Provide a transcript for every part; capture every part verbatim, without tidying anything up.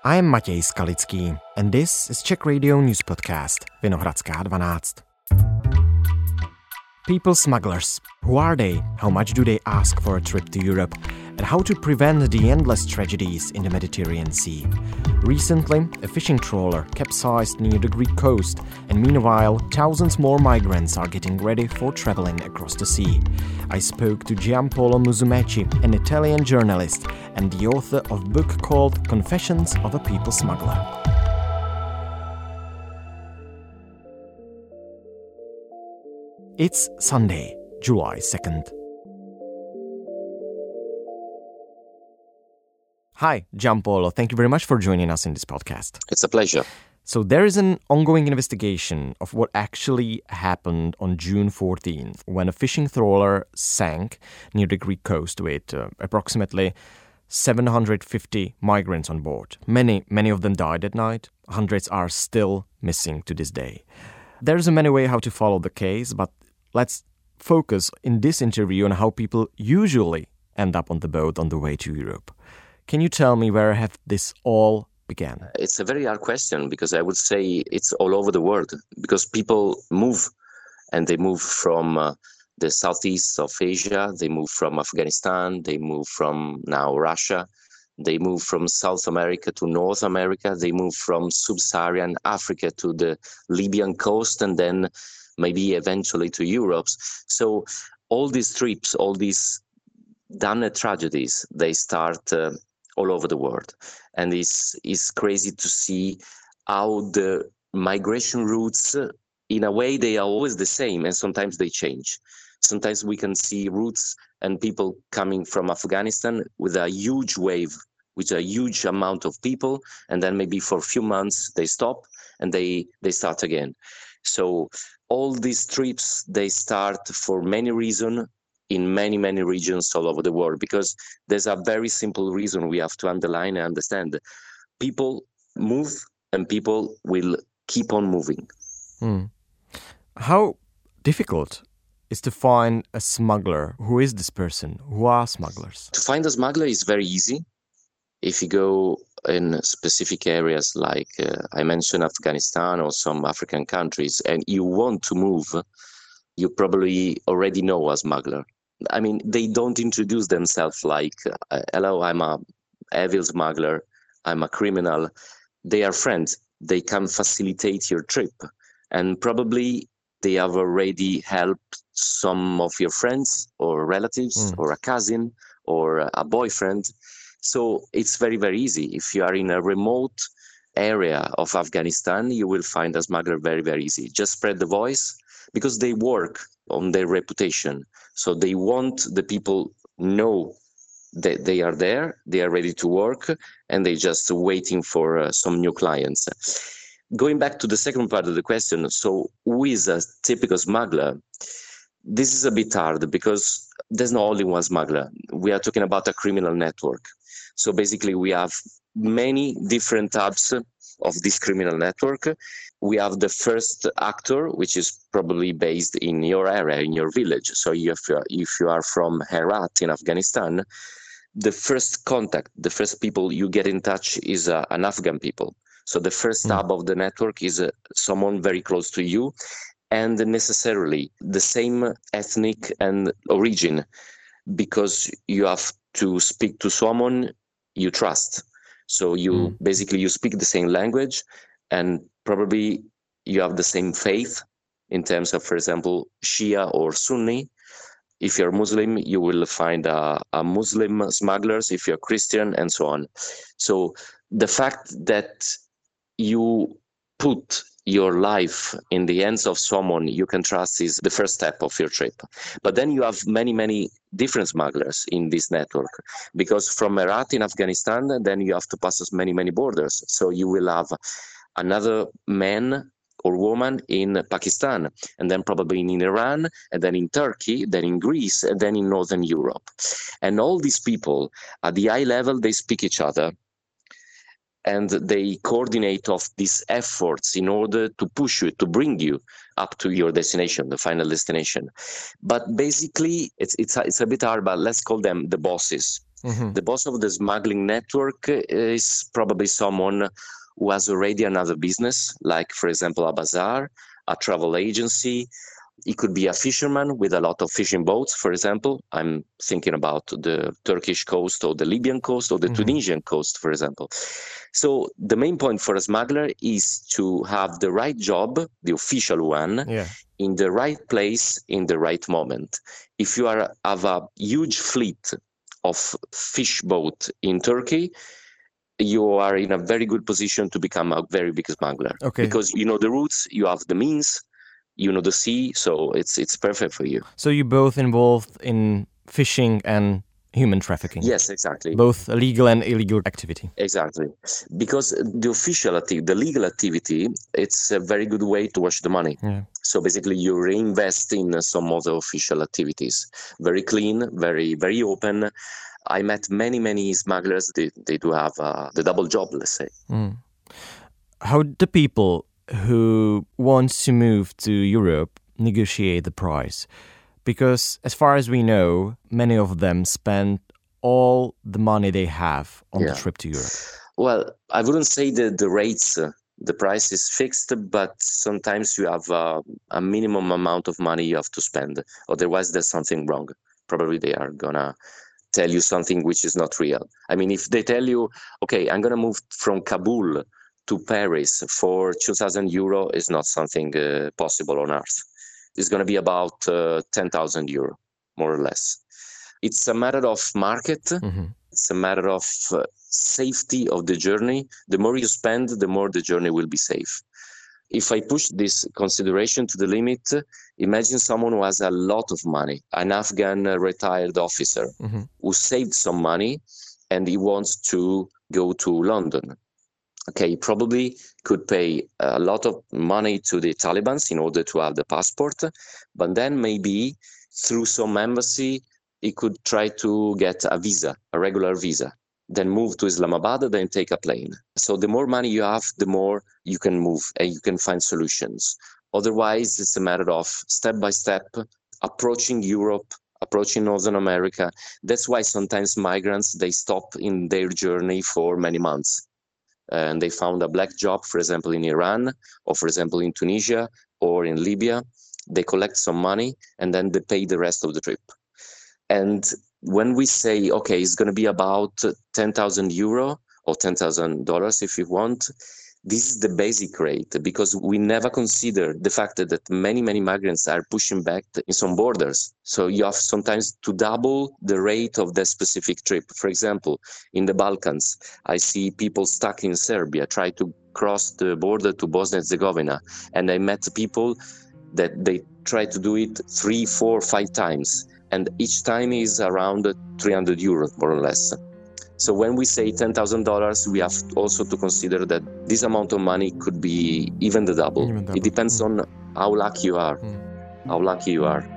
I'm Matěj Skalický, and this is Czech Radio News Podcast, Vinohradská dvanáct. People smugglers. Who are they? How much do they ask for a trip to Europe? And how to prevent the endless tragedies in the Mediterranean Sea. Recently, a fishing trawler capsized near the Greek coast, and meanwhile, thousands more migrants are getting ready for traveling across the sea. I spoke to Giampaolo Musumeci, an Italian journalist and the author of a book called Confessions of a People Smuggler. It's Sunday, July second. Hi, Giampaolo. Thank you very much for joining us in this podcast. It's a pleasure. So there is an ongoing investigation of what actually happened on June fourteenth when a fishing trawler sank near the Greek coast with uh, approximately seven hundred fifty migrants on board. Many, many of them died at night. Hundreds are still missing to this day. There's a many way how to follow the case, but let's focus in this interview on how people usually end up on the boat on the way to Europe. Can you tell me where have this all began? It's a very hard question because I would say it's all over the world because people move and they move from uh, the southeast of Asia, they move from Afghanistan, they move from now Russia, they move from South America to North America, they move from sub-Saharan Africa to the Libyan coast and then maybe eventually to Europe. So all these trips, all these damned tragedies, they start uh, all over the world. And it's, it's crazy to see how the migration routes, uh, in a way, they are always the same and sometimes they change. Sometimes we can see routes and people coming from Afghanistan with a huge wave, with a huge amount of people, and then maybe for a few months they stop and they, they start again. So all these trips, they start for many reasons in many, many regions all over the world, because there's a very simple reason we have to underline and understand. People move and people will keep on moving. Hmm. How difficult is to find a smuggler? Who is this person? Who are smugglers? To find a smuggler is very easy. If you go in specific areas like uh, I mentioned Afghanistan or some African countries and you want to move, you probably already know a smuggler. I mean, they don't introduce themselves like, uh, hello, I'm a evil smuggler, I'm a criminal. They are friends. They can facilitate your trip. And probably they have already helped some of your friends or relatives mm. or a cousin or a boyfriend. So it's very, very easy. If you are in a remote area of Afghanistan, you will find a smuggler very, very easy. Just spread the voice because they work on their reputation. So they want the people know that they are there, they are ready to work, and they're just waiting for uh, some new clients. Going back to the second part of the question, so who is a typical smuggler? This is a bit hard because there's not only one smuggler. We are talking about a criminal network. So basically we have many different types of this criminal network. We have the first actor, which is probably based in your area, in your village. So if you are, if you are from Herat in Afghanistan, the first contact, the first people you get in touch is uh, an Afghan people. So the first mm. hub of the network is uh, someone very close to you and necessarily the same ethnic and origin, because you have to speak to someone you trust. So you mm. basically you speak the same language and probably you have the same faith in terms of, for example, Shia or Sunni. If you're Muslim, you will find a, a Muslim smugglers, if you're Christian, and so on. So the fact that you put your life in the hands of someone you can trust is the first step of your trip. But then you have many, many different smugglers in this network, because from Herat in Afghanistan, then you have to pass many, many borders. So you will have another man or woman in Pakistan, and then probably in Iran, and then in Turkey, then in Greece, and then in Northern Europe. And all these people, at the eye level, they speak each other. And they coordinate of these efforts in order to push you, to bring you up to your destination, the final destination. But basically, it's it's a, it's a bit hard, but let's call them the bosses. Mm-hmm. The boss of the smuggling network is probably someone who has already another business, like, for example, a bazaar, a travel agency. It could be a fisherman with a lot of fishing boats, for example. I'm thinking about the Turkish coast or the Libyan coast or the mm-hmm. Tunisian coast, for example. So the main point for a smuggler is to have the right job, the official one, yeah. in the right place, in the right moment. If you are have a huge fleet of fish boat in Turkey, you are in a very good position to become a very big smuggler. Okay. Because you know the routes, you have the means, you know the sea, so it's it's perfect for you. So you're both involved in fishing and human trafficking? Yes, exactly. Both legal and illegal activity? Exactly. Because the official activity, the legal activity, it's a very good way to wash the money. Yeah. So basically you reinvest in some of the official activities. Very clean, very, very open. I met many, many smugglers. They, they do have uh, the double job, let's say. Mm. How do people who want to move to Europe negotiate the price? Because as far as we know, many of them spend all the money they have on yeah. the trip to Europe. Well, I wouldn't say that the rates, uh, the price is fixed, but sometimes you have uh, a minimum amount of money you have to spend. Otherwise, there's something wrong. Probably they are going to tell you something which is not real. I mean, if they tell you, okay, I'm going to move from Kabul to Paris for two thousand euro, is not something uh, possible on earth. It's going to be about uh, ten thousand euro, more or less. It's a matter of market. Mm-hmm. It's a matter of uh, safety of the journey. The more you spend, the more the journey will be safe. If I push this consideration to the limit, imagine someone who has a lot of money, an Afghan uh, retired officer mm-hmm. who saved some money and he wants to go to London. Okay, he probably could pay a lot of money to the Taliban in order to have the passport, but then maybe through some embassy, he could try to get a visa, a regular visa, then move to Islamabad, then take a plane. So the more money you have, the more you can move and you can find solutions. Otherwise, it's a matter of step by step, approaching Europe, approaching Northern America. That's why sometimes migrants, they stop in their journey for many months. And they found a black job, for example, in Iran, or for example, in Tunisia, or in Libya. They collect some money, and then they pay the rest of the trip. And when we say, okay, it's going to be about ten thousand euro, or ten thousand dollars if you want, this is the basic rate, because we never consider the fact that many, many migrants are pushing back in some borders. So you have sometimes to double the rate of that specific trip. For example, in the Balkans, I see people stuck in Serbia try to cross the border to Bosnia and Herzegovina. And I met people that they try to do it three, four, five times. And each time is around three hundred euros, more or less. So when we say ten thousand dollars, we have also to consider that this amount of money could be even the double. Even double. It depends mm. on how lucky you are, mm. how lucky you are.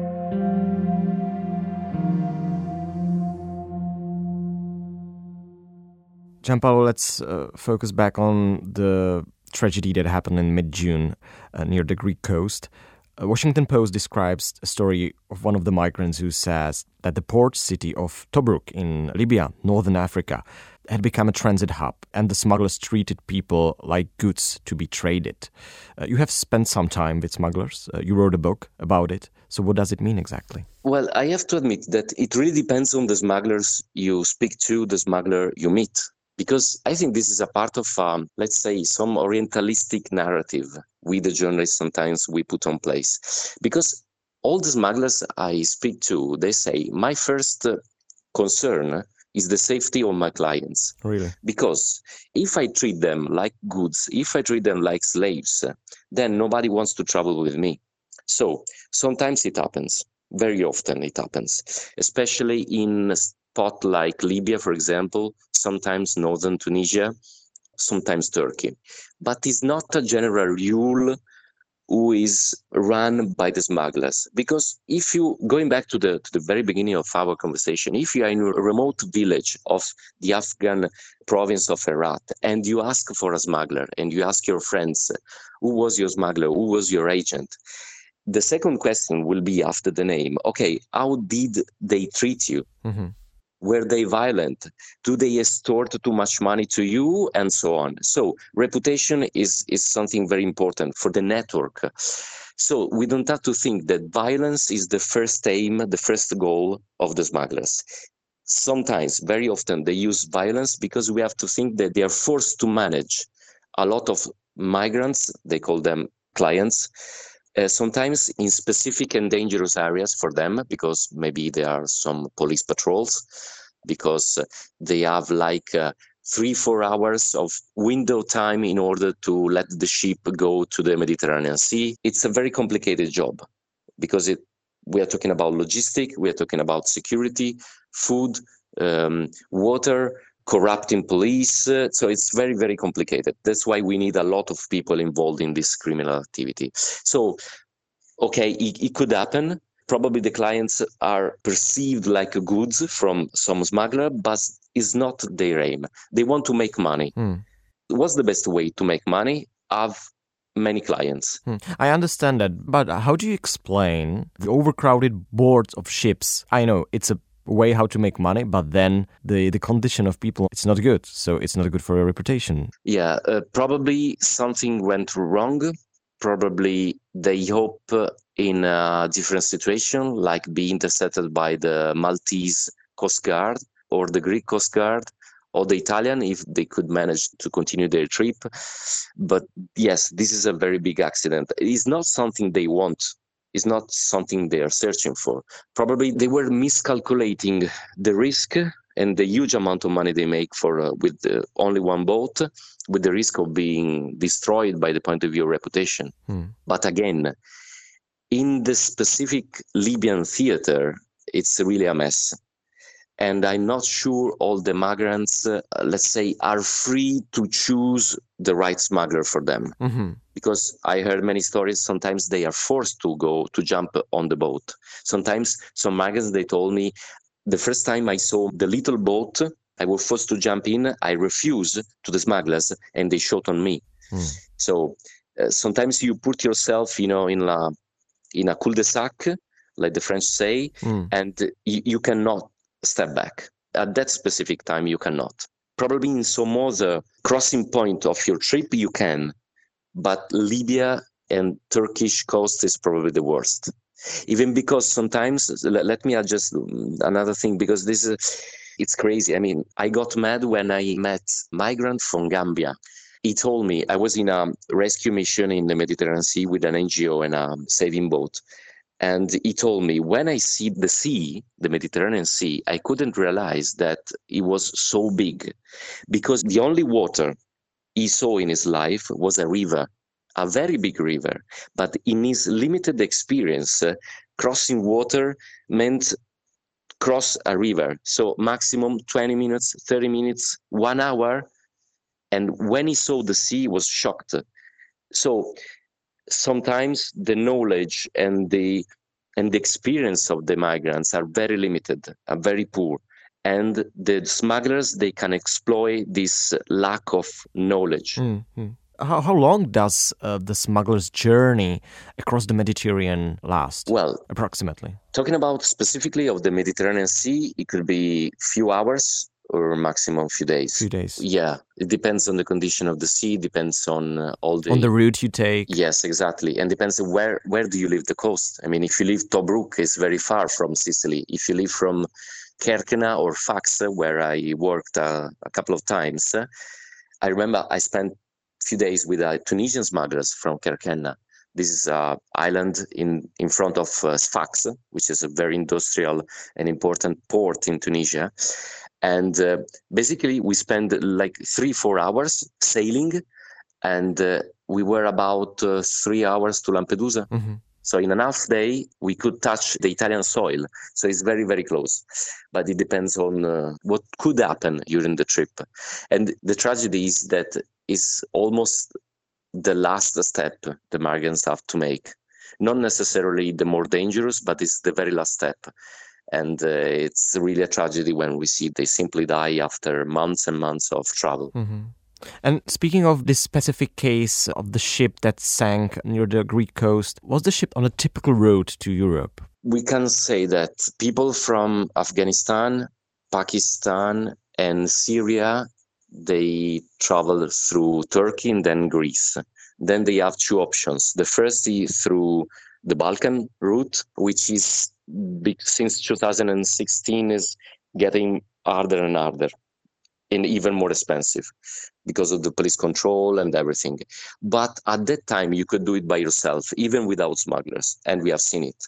Gianpaolo, let's uh, focus back on the tragedy that happened in mid-June uh, near the Greek coast. Uh, Washington Post describes a story of one of the migrants who says that the port city of Tobruk in Libya, northern Africa, had become a transit hub and the smugglers treated people like goods to be traded. Uh, you have spent some time with smugglers. Uh, you wrote a book about it. So what does it mean exactly? Well, I have to admit that it really depends on the smugglers you speak to, the smuggler you meet. Because I think this is a part of, um, let's say, some orientalistic narrative we, the journalists, sometimes we put on place. Because all the smugglers I speak to, they say, my first uh, concern is the safety of my clients. Really? Because if I treat them like goods, if I treat them like slaves, then nobody wants to travel with me. So sometimes it happens. Very often it happens, especially in spot like Libya, for example, sometimes northern Tunisia, sometimes Turkey. But it's not a general rule who is run by the smugglers. Because if you, going back to the to the very beginning of our conversation, if you are in a remote village of the Afghan province of Herat and you ask for a smuggler and you ask your friends, who was your smuggler, who was your agent? The second question will be after the name, okay, how did they treat you? Mm-hmm. Were they violent? Do they extort too much money to you? And so on. So reputation is, is something very important for the network. So we don't have to think that violence is the first aim, the first goal of the smugglers. Sometimes, very often, they use violence because we have to think that they are forced to manage a lot of migrants, they call them clients, uh, sometimes in specific and dangerous areas for them, because maybe there are some police patrols, because they have like uh, three, four hours of window time in order to let the ship go to the Mediterranean Sea. It's a very complicated job because it, we are talking about logistics, we are talking about security, food, um, water, corrupting police. Uh, so it's very, very complicated. That's why we need a lot of people involved in this criminal activity. So, okay, it, it could happen. Probably the clients are perceived like goods from some smuggler, but it's not their aim. They want to make money. Mm. What's the best way to make money? Have many clients. Hmm. I understand that, but how do you explain the overcrowded boards of ships? I know it's a way how to make money, but then the, the condition of people, it's not good. So it's not good for your reputation. Yeah, uh, probably something went wrong. Probably they hope in a different situation, like be intercepted by the Maltese Coast Guard or the Greek Coast Guard, or the Italian, if they could manage to continue their trip. But yes, this is a very big accident. It is not something they want. It's not something they are searching for. Probably they were miscalculating the risk and the huge amount of money they make for uh, with uh, only one boat, with the risk of being destroyed by the point of view of reputation. Hmm. But again, in the specific Libyan theater, it's really a mess. And I'm not sure all the migrants, uh, let's say, are free to choose the right smuggler for them. Mm-hmm. Because I heard many stories, sometimes they are forced to go, to jump on the boat. Sometimes some migrants, they told me, the first time I saw the little boat, I was forced to jump in, I refused to the smugglers, and they shot on me. Mm. So uh, sometimes you put yourself, you know, in a, in a cul-de-sac, like the French say, mm. and you, you cannot step back. At that specific time, you cannot. Probably in some other crossing point of your trip, you can. But Libya and Turkish coast is probably the worst. Even because sometimes, let me adjust another thing, because this is, it's crazy. I mean, I got mad when I met a migrant from Gambia. He told me, I was in a rescue mission in the Mediterranean Sea with an N G O and a saving boat. And he told me, when I see the sea, the Mediterranean Sea, I couldn't realize that it was so big, because the only water he saw in his life was a river, a very big river. But in his limited experience, uh, crossing water meant cross a river. So maximum twenty minutes, thirty minutes, one hour. And when he saw the sea, he was shocked. So sometimes the knowledge and the and the experience of the migrants are very limited, are very poor. And the smugglers, they can exploit this lack of knowledge. Mm-hmm. How, how long does uh, the smuggler's journey across the Mediterranean last? Well, approximately. Talking about specifically of the Mediterranean Sea, it could be few hours or maximum few days. Few days. Yeah, it depends on the condition of the sea, depends on uh, all the... On the route you take. Yes, exactly. And depends on where, where do you leave the coast. I mean, if you leave Tobruk, it's very far from Sicily. If you leave from Kerkena or Fax, where I worked uh, a couple of times, uh, I remember I spent a few days with uh, Tunisian smugglers from Kerkena. This is an island in, in front of uh, Sfax, which is a very industrial and important port in Tunisia. And uh, basically, we spent like three, four hours sailing, and uh, we were about uh, three hours to Lampedusa. Mm-hmm. So in an half day, we could touch the Italian soil. So it's very, very close. But it depends on uh, what could happen during the trip. And the tragedy is that it's almost the last step the migrants have to make. Not necessarily the more dangerous, but it's the very last step. And uh, it's really a tragedy when we see they simply die after months and months of travel. Mm-hmm. And speaking of this specific case of the ship that sank near the Greek coast, was the ship on a typical route to Europe? We can say that people from Afghanistan Pakistan and Syria, they travel through Turkey and then Greece. Then they have two options. The first is through the Balkan route, which is since two thousand sixteen is getting harder and harder and even more expensive because of the police control and everything. But at that time, you could do it by yourself, even without smugglers, and we have seen it.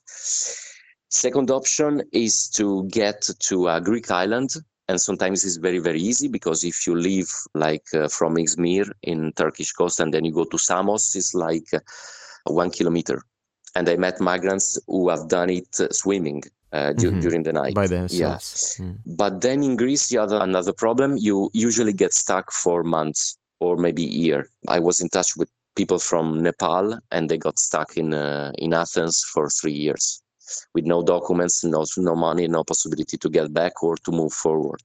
Second option is to get to a Greek island, and sometimes it's very, very easy because if you leave like uh, from Izmir in Turkish coast and then you go to Samos, it's like uh, one kilometer. And I met migrants who have done it uh, swimming uh, du- Mhm. during the night. By Yeah. themselves. Mm. But then in Greece, you have another problem. You usually get stuck for months or maybe a year. I was in touch with people from Nepal and they got stuck in uh, in Athens for three years with no documents, no, no money, no possibility to get back or to move forward.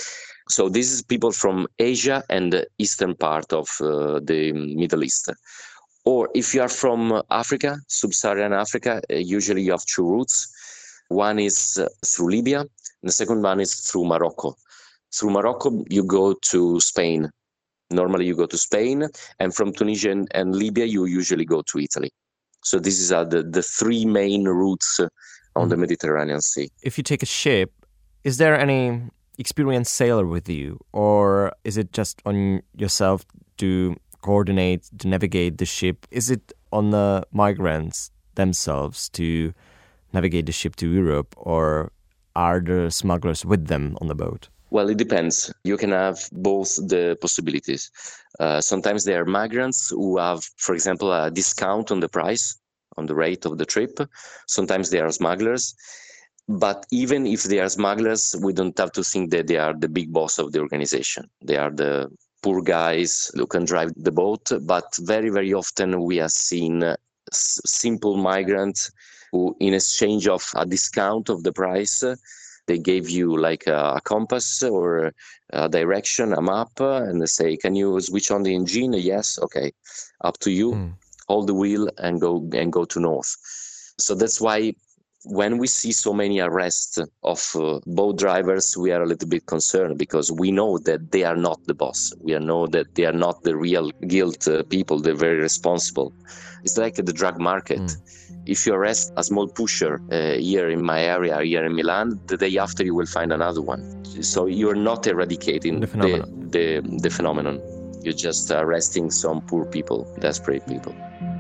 So this is people from Asia and the eastern part of uh, the Middle East. Or if you are from Africa, sub-Saharan Africa, uh, usually you have two routes. One is uh, through Libya, and the second one is through Morocco. Through Morocco, you go to Spain. Normally you go to Spain, and from Tunisia and, and Libya, you usually go to Italy. So these are the, the three main routes uh, on Mhm. the Mediterranean Sea. If you take a ship, is there any experienced sailor with you, or is it just on yourself to coordinate, to navigate the ship? Is it on the migrants themselves to navigate the ship to Europe, or are the smugglers with them on the boat? Well, it depends. You can have both the possibilities. Uh, sometimes there are migrants who have, for example, a discount on the price, on the rate of the trip. Sometimes they are smugglers. But even if they are smugglers, we don't have to think that they are the big boss of the organization. They are the poor guys who can drive the boat. But very, very often we have seen uh, s- simple migrants who, in exchange of a discount of the price, uh, they gave you like a, a compass or a direction, a map, uh, and they say, "Can you switch on the engine?" Yes, okay, up to you. Mm. Hold the wheel and go and go to north. So that's why when we see so many arrests of uh, boat drivers, we are a little bit concerned because we know that they are not the boss. We know that they are not the real guilt uh, people. They're very responsible. It's like the drug market. Mm. If you arrest a small pusher uh, here in my area, here in Milan, the day after you will find another one. So you're not eradicating The the, phenomenon. the, the phenomenon. You're just arresting some poor people, desperate people.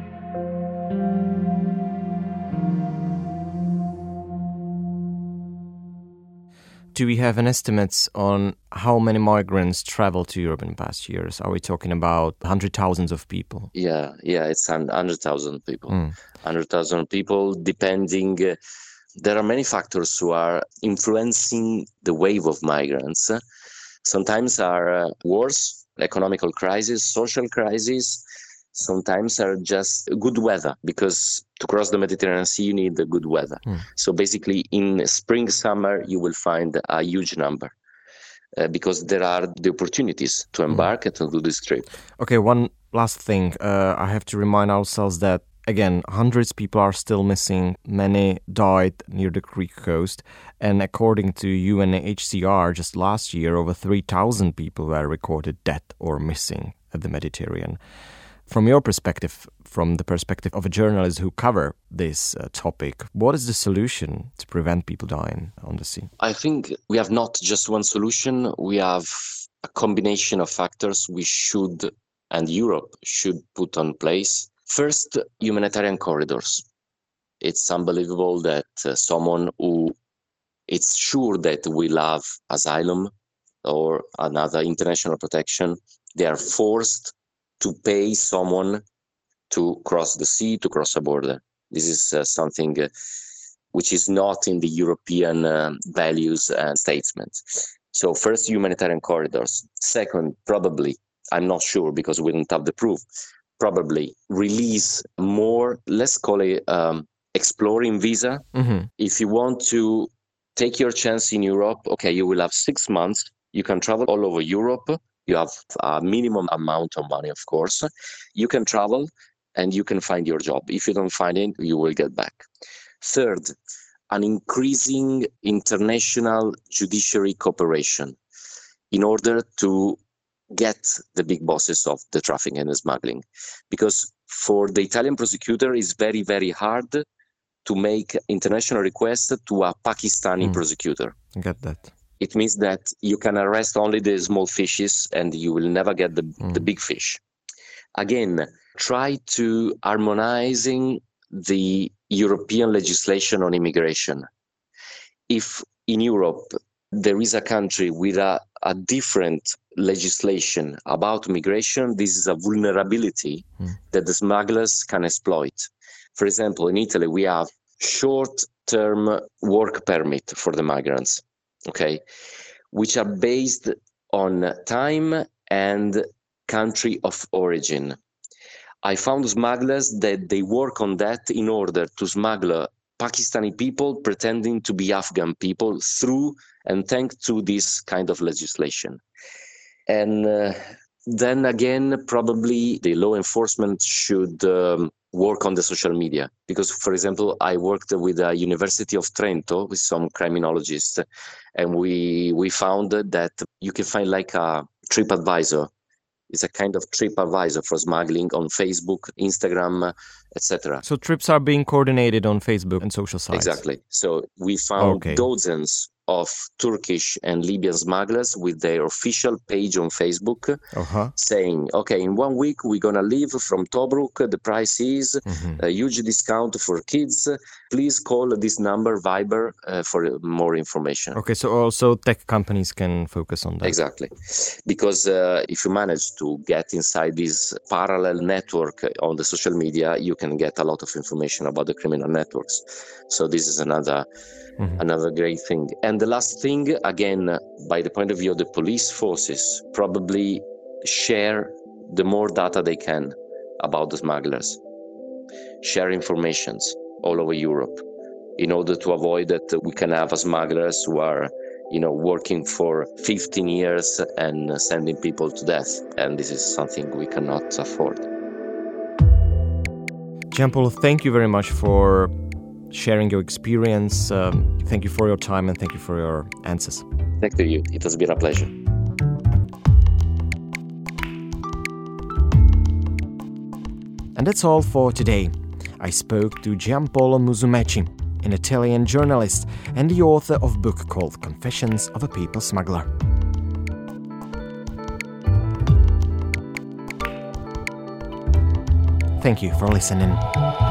Do we have an estimate on how many migrants traveled to Europe in the past years? Are we talking about hundred thousands of people? Yeah, yeah, it's one hundred thousand people. Mm. one hundred thousand people, depending. Uh, there are many factors who are influencing the wave of migrants. Sometimes are uh, wars, economical crisis, social crisis. Sometimes are just good weather, because to cross the Mediterranean Sea, you need the good weather. Mm. So basically, in spring, summer, you will find a huge number. Uh, because there are the opportunities to embark and to do this trip. Okay, one last thing. Uh, I have to remind ourselves that, again, hundreds of people are still missing. Many died near the Greek coast. And according to U N H C R, just last year, over three thousand people were recorded dead or missing at the Mediterranean. From your perspective, from the perspective of a journalist who cover this uh, topic, what is the solution to prevent people dying on the sea? I think we have not just one solution. We have a combination of factors we should, and Europe should put on place. First, humanitarian corridors. It's unbelievable that uh, someone who it's sure that will have asylum or another international protection, they are forced to pay someone to cross the sea, to cross a border. This is uh, something uh, which is not in the European uh, values and statements. So first, humanitarian corridors. Second, probably, I'm not sure because we don't have the proof, probably release more, let's call it um, exploring visa. Mm-hmm. If you want to take your chance in Europe, okay, you will have six months. You can travel all over Europe. You have a minimum amount of money, of course. You can travel and you can find your job. If you don't find it, you will get back. Third, an increasing international judiciary cooperation in order to get the big bosses of the trafficking and the smuggling. Because for the Italian prosecutor, it's very, very hard to make international requests to a Pakistani mm. prosecutor. I get that. It means that you can arrest only the small fishes and you will never get the, mm. the big fish. Again, try to harmonizing the European legislation on immigration. If in Europe there is a country with a, a different legislation about migration, this is a vulnerability mm. that the smugglers can exploit. For example, in Italy, we have short-term work permit for the migrants, okay, which are based on time and country of origin. I found smugglers that they work on that in order to smuggle Pakistani people pretending to be Afghan people through and thanks to this kind of legislation. And uh, then again, probably the law enforcement should um, work on the social media. Because, for example, I worked with the University of Trento with some criminologists, and we we found that you can find like a TripAdvisor. It's a kind of TripAdvisor for smuggling on Facebook, Instagram, et cetera. So trips are being coordinated on Facebook and social sites. Exactly. So we found okay. dozens of Turkish and Libyan smugglers with their official page on Facebook uh-huh. saying, okay, in one week we're going to leave from Tobruk. The price is mm-hmm. a huge discount for kids. Please call this number, Viber, uh, for more information. Okay, so also tech companies can focus on that. Exactly. Because uh, if you manage to get inside this parallel network on the social media, you can get a lot of information about the criminal networks. So this is another mm-hmm. another great thing. And the last thing, again, by the point of view of the police forces, probably share the more data they can about the smugglers. Share informations all over Europe in order to avoid that we can have smugglers who are, you know, working for fifteen years and sending people to death. And this is something we cannot afford. Gianpaolo, thank you very much for sharing your experience. Um, thank you for your time and thank you for your answers. Thank you. It has been a pleasure. And that's all for today. I spoke to Gianpaolo Musumeci, an Italian journalist and the author of a book called Confessions of a People Smuggler. Thank you for listening.